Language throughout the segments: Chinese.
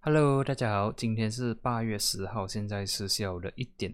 Hello，大家好，今天是8月10号，现在是下午的1点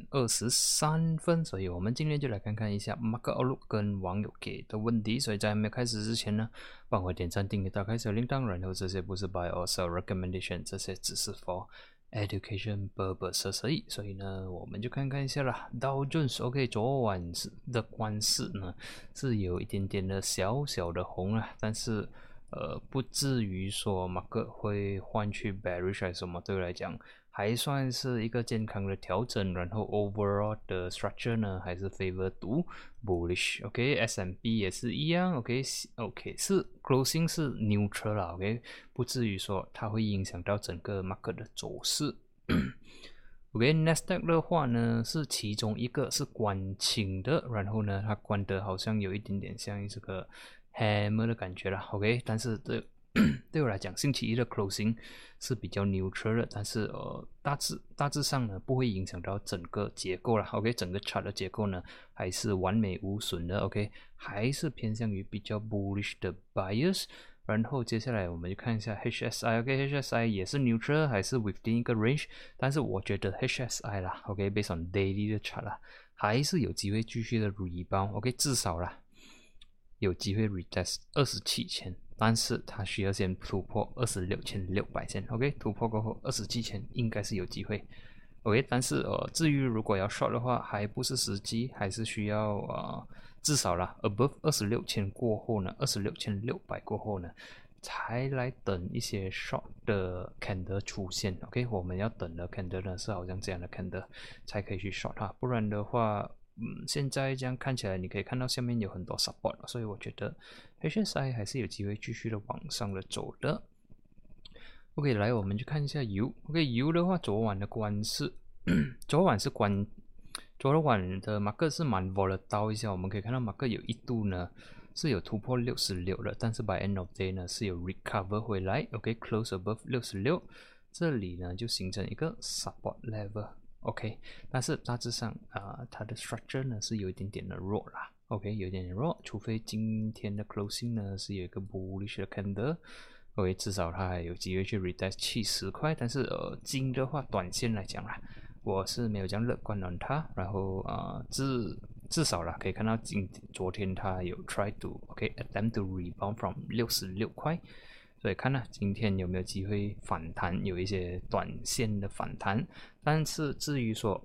23分，所以我们今天就来看看一下 Market Outlook 跟网友给的问题。所以在还没有开始之前呢，帮我点赞、订阅、打开小铃铛，然后这些不是 buy or sell recommendation， 这些只是 for education purposes 而已。所以呢，我们就看看一下啦。Dow Jones OK， 昨晚的关市呢是有一点点的小小的红啊，但是不至于说market会换去 bearish 还是什么，对我来讲还算是一个健康的调整。然后 overall 的 structure 呢还是 favor to bullish。OK，S&P 也是一样。OK， 是 closing 是 neutral 啦。OK， 不至于说它会影响到整个 market 的走势。OK，Nasdaq 的话呢是其中一个是关清的，然后呢它关的好像有一点点像这个 hammer 的感觉啦。OK， 但是对我来讲，星期一的 closing 是比较 neutral 的，但是大致上呢不会影响到整个结构啦。OK， 整个 chart 的结构呢还是完美无损的。OK， 还是偏向于比较 bullish 的 bias。然后接下来我们就看一下 HSI。OK，HSI 也是 neutral， 还是 within 一个 range， 但是我觉得 HSI 啦 ，OK，based on daily 的 chart 啦，还是有机会继续的 rebound。OK， 至少啦有机会 retest 27000，但是它需要先突破26600先。OK， 突破过后27000应该是有机会。OK， 但是至于如果要 short 的话，还不是时机，还是需要至少啦 above 26000过后呢，26600过后呢，才来等一些 short 的 candle 出现。OK， 我们要等的 candle 呢是好像这样的 candle 才可以去 short 它，不然的话，现在这样看起来，你可以看到下面有很多 support， 所以我觉得 HSI 还是有机会继续的往上的走的。OK， 来我们去看一下油。OK， 油的话，昨晚的关是昨晚的 market 是蛮 volatile 一下，我们可以看到 market 有一度呢是有突破66的，但是 by end of day 呢是有 recover 回来。OK，close above 66，这里呢就形成一个 support level。OK， 但是大致上它的 structure 呢是有一点点的弱啦。OK， 有一点点弱，除非今天的 closing 呢是有一个 bullish 的 candle。OK， 至少它还有机会去 retest 70块，但是金的话，短线来讲啦，我是没有这样乐观的它。然后至少啦，可以看到昨天它有 try to attempt to rebound from 66块，所以看啦，今天有没有机会反弹，有一些短线的反弹。但是至于说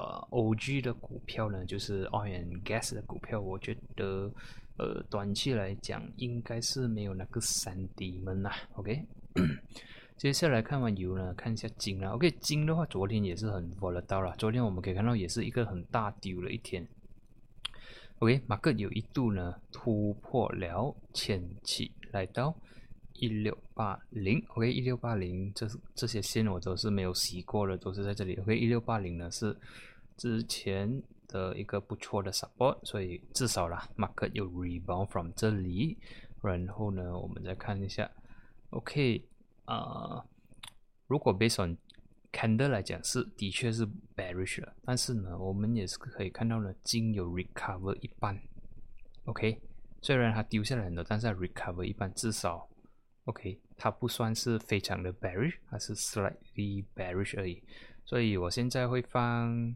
OG 的股票呢，就是 oil and gas 的股票，我觉得短期来讲应该是没有那个三 D 们啦。OK， 接下来看完油呢，看一下金啦。OK， 金的话昨天也是很 volatile 啦，昨天我们可以看到也是一个很大丢的一天。OK， market 有一度呢突破了前期来到1680。OK， 1680这些线我都是没有洗过的，都是在这里。OK， 1680呢是之前的一个不错的 support， 所以至少啦 market 有 rebound from 这里。然后呢我们再看一下 OK， 如果 based on candle 来讲是的确是 bearish 了，但是呢我们也是可以看到呢金有 recover 一半。OK， 虽然它丢下来很多，但是它 recover 一半，至少 OK 它不算是非常的 bearish， 它是 slightly bearish 而已。所以我现在会放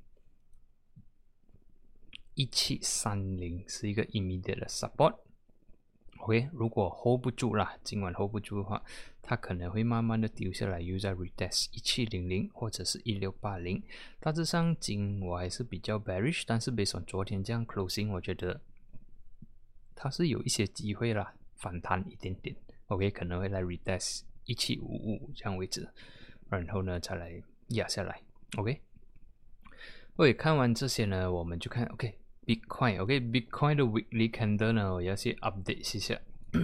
1730是一个 immediate 的 support。OK， 如果 hold 不住啦，今晚 hold 不住的话，它可能会慢慢的丢下来，又在 retest 1700或者是1680。大致上金我还是比较 bearish， 但是 based on 昨天这样 closing， 我觉得它是有一些机会啦，反弹一点点。OK， 可能会来 retest 1755这样位置，然后呢再来压下来。OK， 看完这些呢，我们就看 Bitcoin。Bitcoin 的 weekly candle 呢，我要去 update 一下。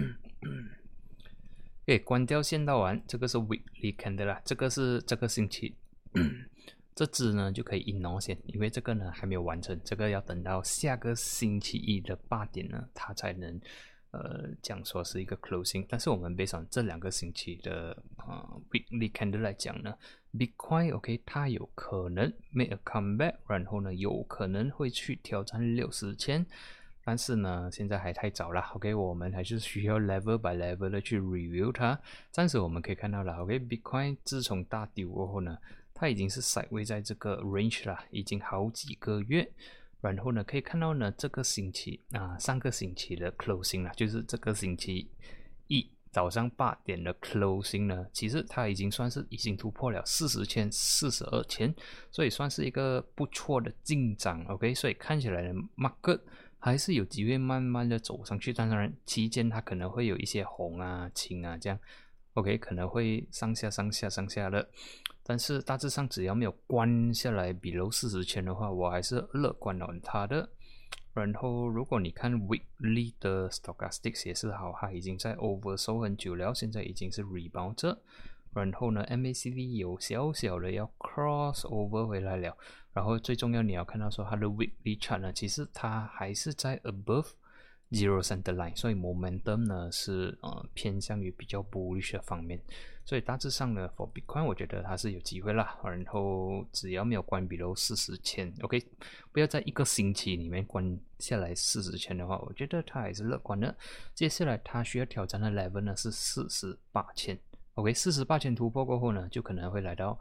关掉线道完，这个是 weekly candle 啦，这个是这个星期，这支呢就可以 ignore 先，因为这个呢还没有完成，这个要等到下个星期一的8点呢，它才能讲说是一个 closing。但是我们 based on 这2个星期的weekly candle 来讲呢，Bitcoin OK 它有可能 make a comeback， 然后呢有可能会去挑战60千， 但是呢，现在还太早了 ，OK， 我们还是需要 level by level 的去 review 它。暂时我们可以看到了 ，OK，Bitcoin 自从大丢过后呢，它已经是 sideways 在这个 range 了，已经好几个月。然后呢，可以看到呢，这个星期上个星期的 closing 啦，就是这个星期一早上8点的 closing 呢，其实它已经突破了40千、42千，所以算是一个不错的进展 ，OK， 所以看起来呢 market 还是有机会慢慢的走上去，当然期间它可能会有一些红啊、青啊这样 ，OK， 可能会上下的，但是大致上只要没有关下来below40千的话，我还是乐观它的。然后如果你看 weekly 的 stochastics 也是好，它已经在 oversold 很久了，现在已经是 rebound 着。然后呢 MACD 有小小的要 cross over 回来了，然后最重要你要看到说它的 weekly chart 呢，其实它还是在 above zero center line， 所以 momentum 呢是偏向于比较 bullish 的方面，所以大致上呢 for Bitcoin 我觉得它是有机会啦，然后只要没有关below 40千 OK， 不要在一个星期里面关下来40千的话，我觉得它还是乐观的。接下来它需要挑战的 level 呢是48千，OK， 48千突破过后呢，就可能会来到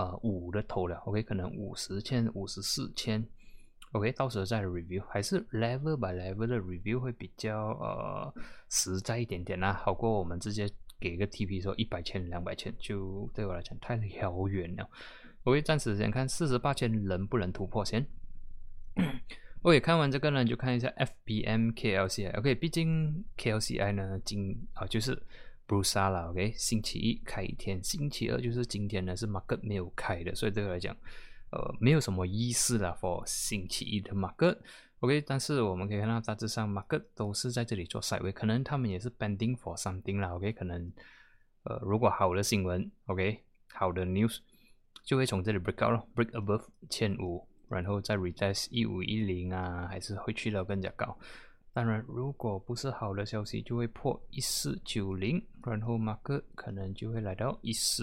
5的头了 ，OK， 可能50千、54千。OK， 到时候再 review， 还是 level by level 的 review 会比较实在一点点啦，好过我们直接给个 TP 说100千、200千，就对我来讲太遥远了。OK， 暂时先看48千能不能突破先。OK， 看完这个呢，就看一下 FBM KLCI。OK， 毕竟 KLCI 呢，就是 Bursa 啦。OK， 星期一开一天，星期二就是今天呢是 market 没有开的，所以对我来讲。没有什么意思啦 for 星期一的 market， OK， 但是我们可以看到大致上 market 都是在这里做 sideways， 可能他们也是 pending for something 啦 ，OK， 可能如果好的新闻 ，OK， 好的 news 就会从这里 break out 咯 ，break above 1500，然后再 retest 1510啊，还是会去到更加高。当然，如果不是好的消息，就会破1490，然后 market 可能就会来到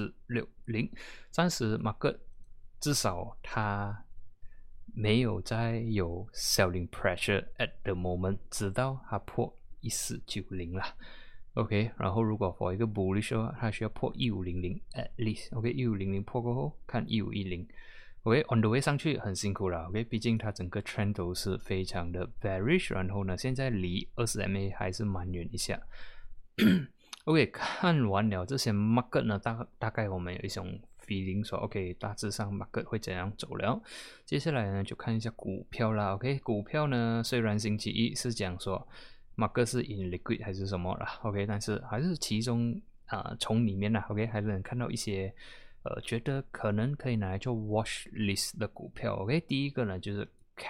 1460，暂时 market。至少它没有再有 selling pressure at the moment， 直到它破1490啦。OK， 然后如果 for 一个 bullish 的话，它需要破1500 at least。OK， 1500破过后看1510。OK，on the way 上去很辛苦了。OK， 毕竟它整个 trend 都是非常的 bearish， 然后呢，现在离 20MA 还是蛮远一下。OK， 看完了这些 market 呢，大概我们有一种 feeling 说 OK， 大致上 market 会怎样走了。接下来呢，就看一下股票啦。OK， 股票呢，虽然星期一是讲说 market 是 in liquid 还是什么啦 ，OK， 但是还是其中从里面啦 ，OK， 还是能看到一些觉得可能可以拿来做 watch list 的股票。OK， 第一个呢就是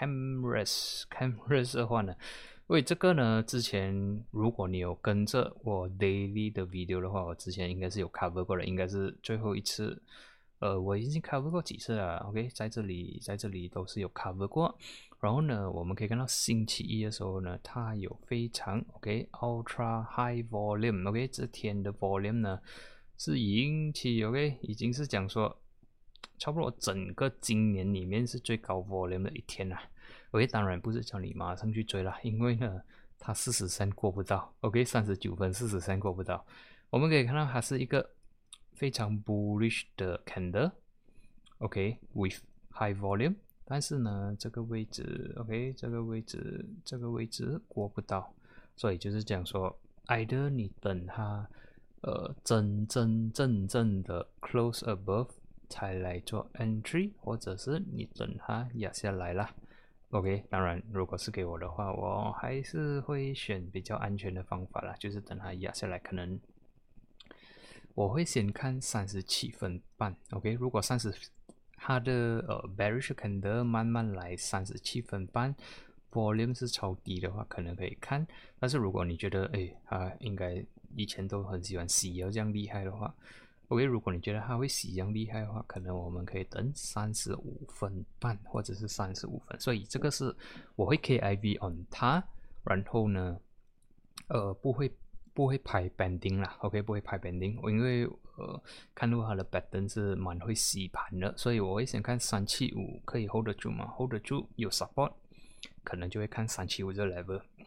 Camrus 的话呢。因为这个呢，之前如果你有跟着我 daily 的 video 的话，我之前应该是有 cover 过的，应该是最后一次。我已经 cover 过几次了 ，OK， 在这里都是有 cover 过。然后呢，我们可以看到星期一的时候呢，它有非常 OK ultra high volume，OK， 这天的 volume 呢是引起 OK， 已经是讲说差不多整个今年里面是最高 volume 的一天啦。OK， 当然不是叫你马上去追啦，因为呢，它43过不到 ，OK， 39分43过不到。我们可以看到它是一个非常 bullish 的 candle，OK，with high volume， 但是呢，这个位置 ，OK， 这个位置过不到，所以就是讲说 ，either 你等它真正的 close above 才来做 entry， 或者是你等它压下来啦。OK， 当然，如果是给我的话，我还是会选比较安全的方法啦，就是等它压下来，可能我会先看37分半。OK， 如果它的bearish candle 慢慢来37分半 ，volume 是超低的话，可能可以看。但是如果你觉得它应该以前都很喜欢洗这样厉害的话。OK， 如果你觉得它会洗这样厉害的话，可能我们可以等35分半或者是35分，所以这个是我会 KIV on 它，然后呢，不会拍 banding 啦 ，OK， 不会拍 banding， 因为看到它的 pattern 是蛮会洗盘的，所以我会先看375可以 hold 得住吗 ？hold 得住有 support， 可能就会看375这 level。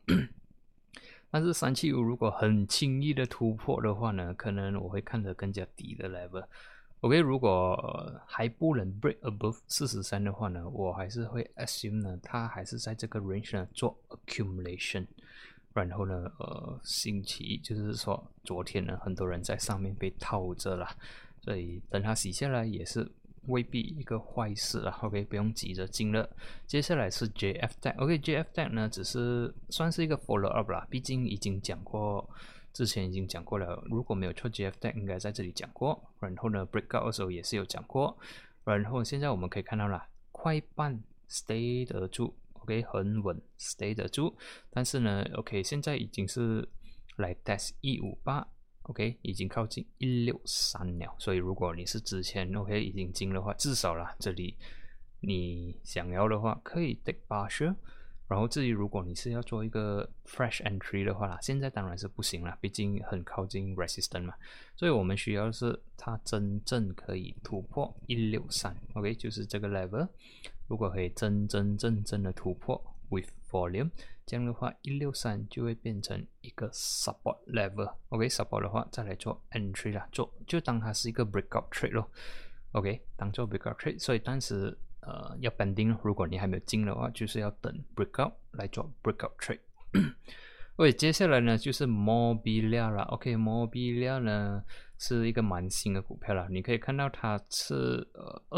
但是375如果很轻易的突破的话呢，可能我会看得更加低的 level。OK， 如果还不能 break above 43的话呢，我还是会 assume 呢，它还是在这个 range 呢做 accumulation。然后呢，星期一就是说昨天呢，很多人在上面被套着啦，所以等它洗下来也是未必一个坏事啦。OK， 不用急着进了。接下来是 JF tag。OK，JF tag 呢只是算是一个 follow up 啦，毕竟已经讲过。之前已经讲过了，如果没有错 ，GF tag 应该在这里讲过。然后呢 ，breakout 的时候也是有讲过。然后现在我们可以看到了，快半 stay 得住 ，OK， 很稳 stay 得住。但是呢 ，OK， 现在已经是来 test 158，OK， 已经靠近163了。所以如果你是之前 OK 已经进的话，至少啦，这里你想要的话可以 take partial。然后至于如果你是要做一个 fresh entry 的话啦，现在当然是不行啦，毕竟很靠近 resistance 嘛，所以我们需要的是它真正可以突破163，OK， 就是这个 level， 如果可以真正的突破 with volume， 这样的话163就会变成一个 support level，OK， support 的话再来做 entry 啦，就当它是一个 breakout trade 咯 ，OK， 当做 breakout trade， 所以当时要 pending， 如果你还没有进的话，就是要等 breakout 来做 breakout trade。OK， 接下来呢就是 Mobilia 啦。OK，Mobilia 呢是一个蛮新的股票啦，你可以看到它是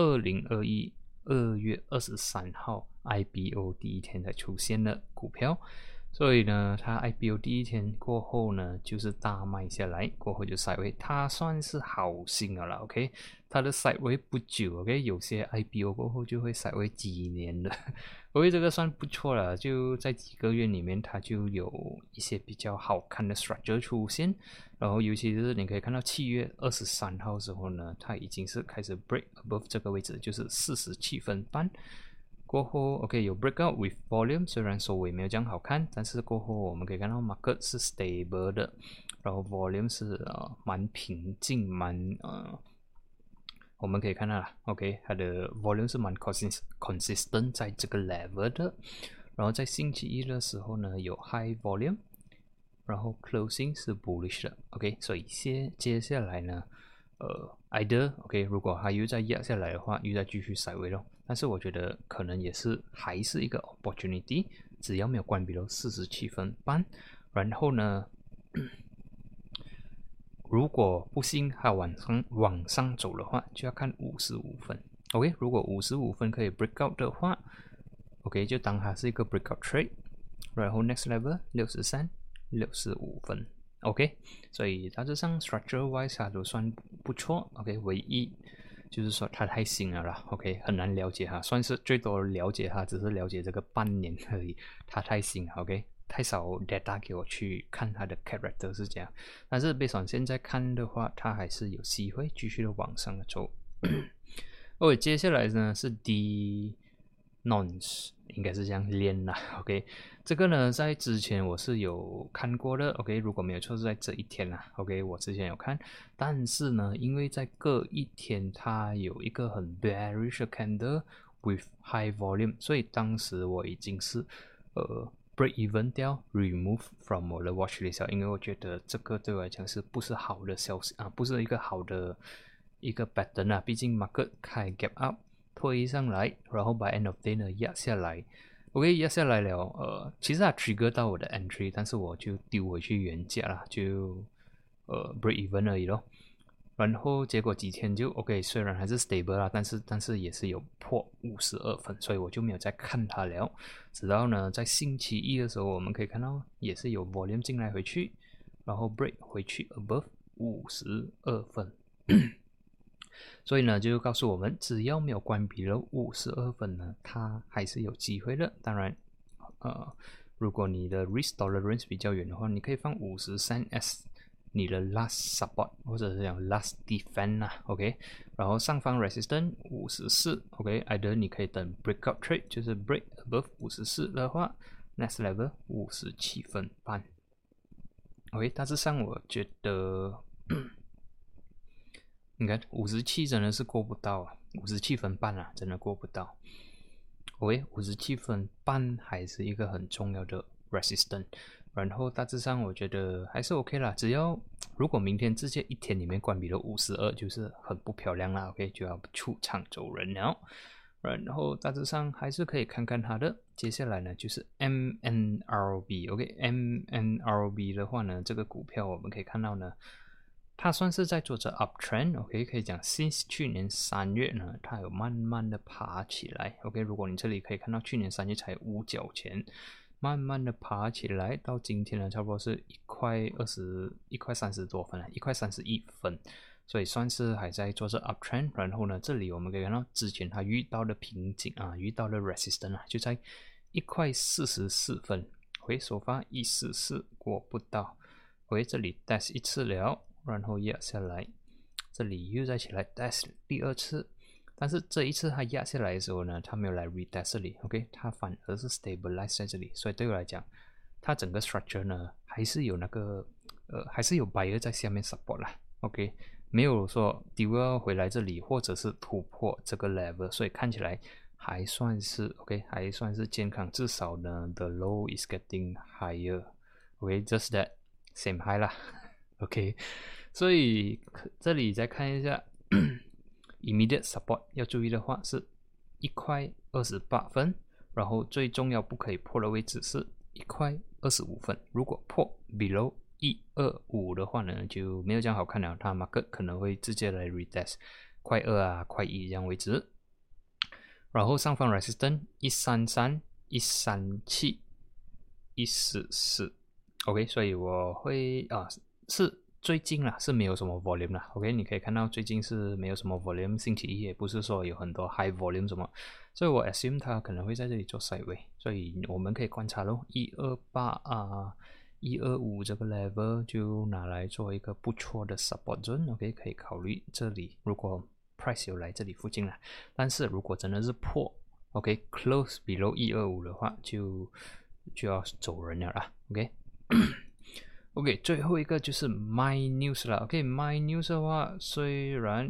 2021 2月23号 IPO 第一天才出现的股票。所以呢，它 IPO 第一天过后呢，就是大卖下来，过后就 sideway， 它算是好新了啦 ，OK， 它的 sideway 不久 ，OK， 有些 IPO 过后就会 sideway 几年的，OK， 这个算不错了，就在几个月里面，它就有一些比较好看的 structure 出现，然后尤其是你可以看到7月23号的时候呢，它已经是开始 break above 这个位置，就是47分半。过后 OK 有 breakout with volume， 虽然收尾没有这样好看，但是过后我们可以看到 market 是 stable 的，然后 volume 是蛮平静，我们可以看到啦 OK 它的 volume 是蛮 consistent 在这个 level 的，然后在星期一的时候呢有 high volume， 然后 closing 是 bullish 的 OK， 所以接下来呢either OK 如果它又再压下来的话，又再继续sideways咯，但是我觉得可能还是一个 opportunity， 只要没有关闭到47分半，然后呢如果不幸它往上走的话，就要看55分 OK， 如果55分可以 break out 的话 OK 就当它是一个 breakout trade， 然后 next level 63 65分OK， 所以大致上 structure wise 它都算不错 OK， 唯一就是说它太新了啦 OK， 很难了解它，算是最多了解它只是了解这个半年而已，它太新了 OK， 太少 data 给我去看它的 character 是这样，但是based on现在看的话，它还是有机会继续的往上走OK， 接下来呢是 Nonce， 应该是这样练啦 OK， 这个呢在之前我是有看过的 OK， 如果没有错是在这一天啦 OK， 我之前有看，但是呢因为在隔一天它有一个很 bearish candle with high volume， 所以当时我已经是break even 掉 remove from 我的 watch list， 因为我觉得这个对我来讲是不是好的消息不是一个好的一个 pattern 啊，毕竟 market 开 gap up 推上来，然后 by end of day 呢压下来 OK， 压下来了其实它 trigger 到我的 entry， 但是我就丢回去原价啦，就break even 而已咯，然后结果几天就 OK， 虽然还是 stable 啦，但是也是有破52分，所以我就没有再看它了，直到呢在星期一的时候我们可以看到也是有 volume 进来回去，然后 break 回去 above 52分所以呢就告诉我们只要没有关闭了52分呢，它还是有机会的，当然如果你的 risk tolerance 比较远的话，你可以放53 as 你的 last support 或者是讲 last defense 啦 OK， 然后上方 resistance 54 OK， either 你可以等 breakout trade， 就是 break above 54的话 next level 57分半 OK， 大致上我觉得你看57真的是过不到啊，57分半啊，真的过不到。OK， 57分半还是一个很重要的 resistance， 然后大致上我觉得还是 OK 啦，只要如果明天直接一天里面关闭了52，就是很不漂亮啦 ，OK 就要出场走人了。然后大致上还是可以看看它的，接下来呢就是 MNRB，OK，MNRB 的话呢，这个股票我们可以看到呢，它算是在做着 uptrend，OK，可以讲 since 去年3月呢，它有慢慢的爬起来，OK，如果你这里可以看到去年3月才5角钱，慢慢的爬起来，到今天呢，差不多是1块30多分了，1块31分。所以算是还在做着 uptrend， 然后呢，这里我们可以看到之前它遇到的瓶颈啊，遇到的 resistance 啊，就在1块44分，回首发144过不到，回这里 test 一次了，然后压下来，这里又再起来 test 第二次，但是这一次它压下来的时候呢，它没有来 retest 这里 ，OK， 它反而是 stabilize 在这里，所以对我来讲，它整个 structure 呢还是有那个还是有 buyer 在下面 support 啦 ，OK。没有说丢要回来这里，或者是突破这个 level， 所以看起来还算是 OK， 还算是健康。至少呢 ，the low is getting higher，OK，just that same high 啦 ，OK。所以这里再看一下immediate support 要注意的话是1块28分，然后最重要不可以破的位置是1块25分，如果破 below 125的话呢，就没有这样好看了，它 market 可能会直接来 retest 块2啊、块1这样为止。然后上方 resistance 133、137、144 ，OK， 所以我会是最近啦，是没有什么 volume 啦 ，OK， 你可以看到最近是没有什么 volume， 星期一也不是说有很多 high volume 什么，所以我 assume 它可能会在这里做 sideway， 所以我们可以观察咯，128啊。125这个 level 就拿来做一个不错的 support zone，OK， 可以考虑这里。如果 price 有来这里附近啦，但是如果真的是破 ，OK close below 125的话，就要走人了啦 ，OK 。OK， 最后一个就是 My News 啦 ，OK，My News 的话，虽然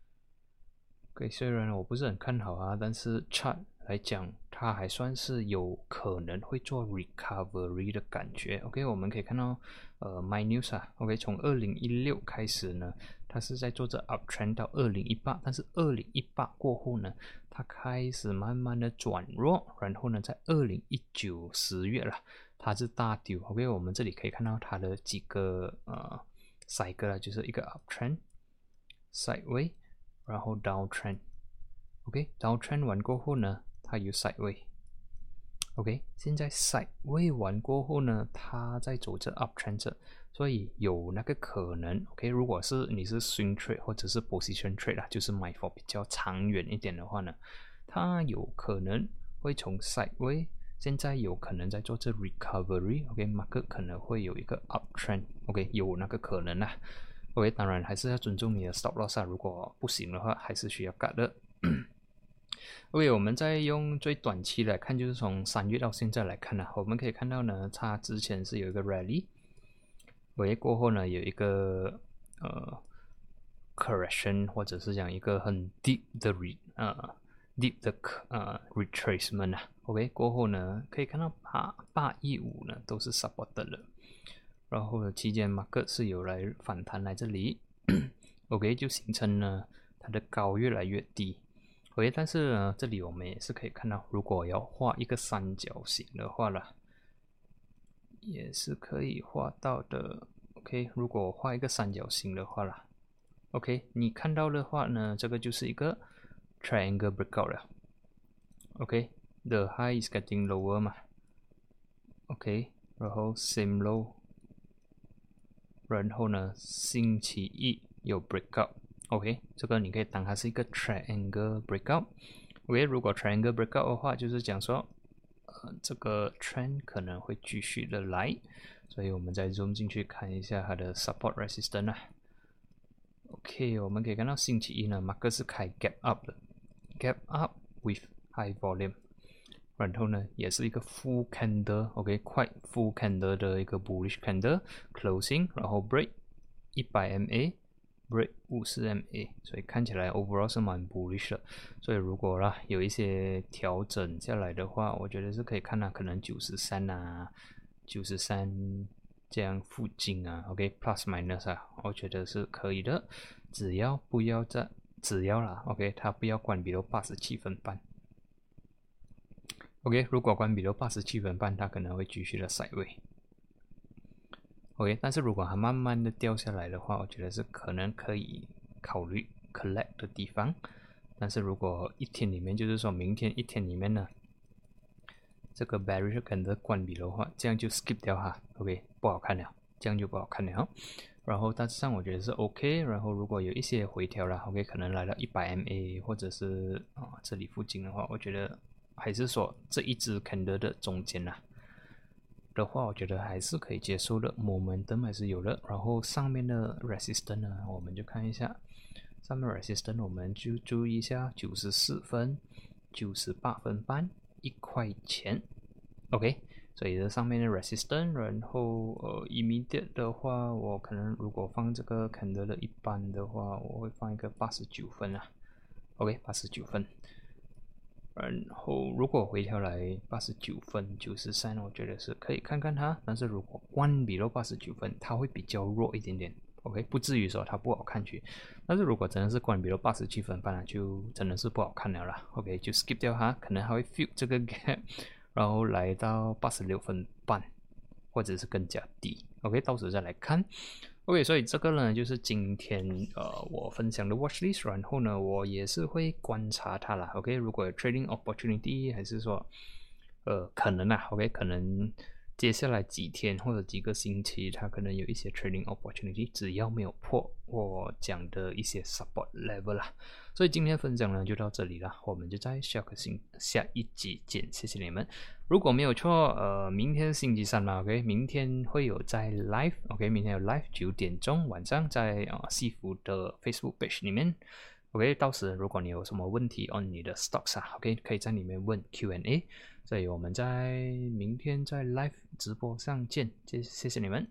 我不是很看好啊，但是 chart 来讲，它还算是有可能会做 recovery 的感觉。OK， 我们可以看到My News 啊 ，OK， 从2016开始呢，它是在做着 uptrend 到2018，但是2018过后呢，它开始慢慢的转弱，然后呢，在2019 10月了，它是大丢。OK， 我们这里可以看到它的几个cycle 啦，就是一个 uptrend、sideway， 然后 downtrend。OK，downtrend 完过后呢，它有 sideway。OK， 现在 sideway 完过后呢，它在走着 uptrend， 所以有那个可能。OK， 如果是你是 swing trade 或者是 position trade 啦，就是买 for 比较长远一点的话呢，它有可能会从 sideway， 现在有可能在做这 recovery。OK，market 可能会有一个 uptrend。OK， 有那个可能啦。OK， 当然还是要尊重你的 stop loss 啊，如果不行的话，还是需要 cut 的。OK， 我们再用最短期来看，就是从3月到现在来看呢，我们可以看到呢，它之前是有一个 rally， 过后呢有一个correction， 或者是讲一个很 deep 的retracement 啊。OK， 过后呢可以看到815呢都是 supported 的，然后期间 market 是有来反弹来这里，OK 就形成呢它的高越来越低。OK， 但是呢，这里我们也是可以看到，如果要画一个三角形的话啦，也是可以画到的。OK， 如果我画一个三角形的话啦 ，OK， 你看到的话呢，这个就是一个 triangle breakout 了。OK，the high is getting lower 嘛。OK， 然后 same low， 然后呢，星期一有 breakout。OK， 这个你可以当它是一个 triangle breakout。OK， 如果 triangle breakout 的话，就是讲说，这个 trend 可能会继续的来，所以我们再 zoom 进去看一下它的 support resistance 啊。OK， 我们可以看到星期一呢 ，market 是开 gap up 的 ，gap up with high volume， 然后呢，也是一个 full candle，OK， 快 full candle 的一个 bullish candle closing， 然后 break 100 MA。break 50 MA， 所以看起来 overall 是蛮 bullish 的。所以如果啦有一些调整下来的话，我觉得是可以看可能93啊 93这样附近啊 ，OK plus minus 啊，我觉得是可以的，只要啦 ，OK 它不要关闭到87分半。OK， 如果关闭到87分半，它可能会继续的sideways。OK， 但是如果它慢慢的掉下来的话，我觉得是可能可以考虑 collect 的地方。但是如果一天里面，就是说明天一天里面呢，这个 bearish candle 关闭的话，这样就 skip 掉哈 ，OK， 不好看了，这样就不好看了。然后大致上我觉得是 OK， 然后如果有一些回调了 ，OK， 可能来到100 MA 或者是这里附近的话，我觉得还是说这一只 candle 的中间啦的话，我觉得还是可以接受的 ，momentum 还是有的。然后上面的 resistance 呢，我们就看一下。上面 resistance 我们就注意一下94分、98分半、1块钱 ，OK， 所以这上面的 resistance， 然后immediate 的话，我可能如果放这个 candle 的一般的话，我会放一个89分啊 ，OK， 89分。然后如果回调来89分、93，我觉得是可以看看它，但是如果关闭到89分，它会比较弱一点点。OK， 不至于说它不好看去，但是如果真的是关闭到87分半了，就真的是不好看了啦。OK， 就 skip 掉它，可能还会 fill 这个 gap， 然后来到86分半，或者是更加低。OK， 到时再来看。OK， 所以这个呢就是今天我分享的 watch list， 然后呢我也是会观察它啦。OK， 如果有 trading opportunity， 还是说可能啊 ，OK， 可能。接下来几天或者几个星期，它可能有一些 trading opportunity， 只要没有破我讲的一些 support level 啦。所以今天分享呢就到这里了，我们就在下一集见，谢谢你们。如果没有错，明天星期三嘛 ，OK， 明天会有在 live，OK， 明天有 live 9点钟晚上在西服的 Facebook page 里面。OK， 到时如果你有什么问题 on 你的 stocks 啊 ，OK， 可以在里面问 Q&A， 所以我们在明天在 live 直播上见，谢谢你们。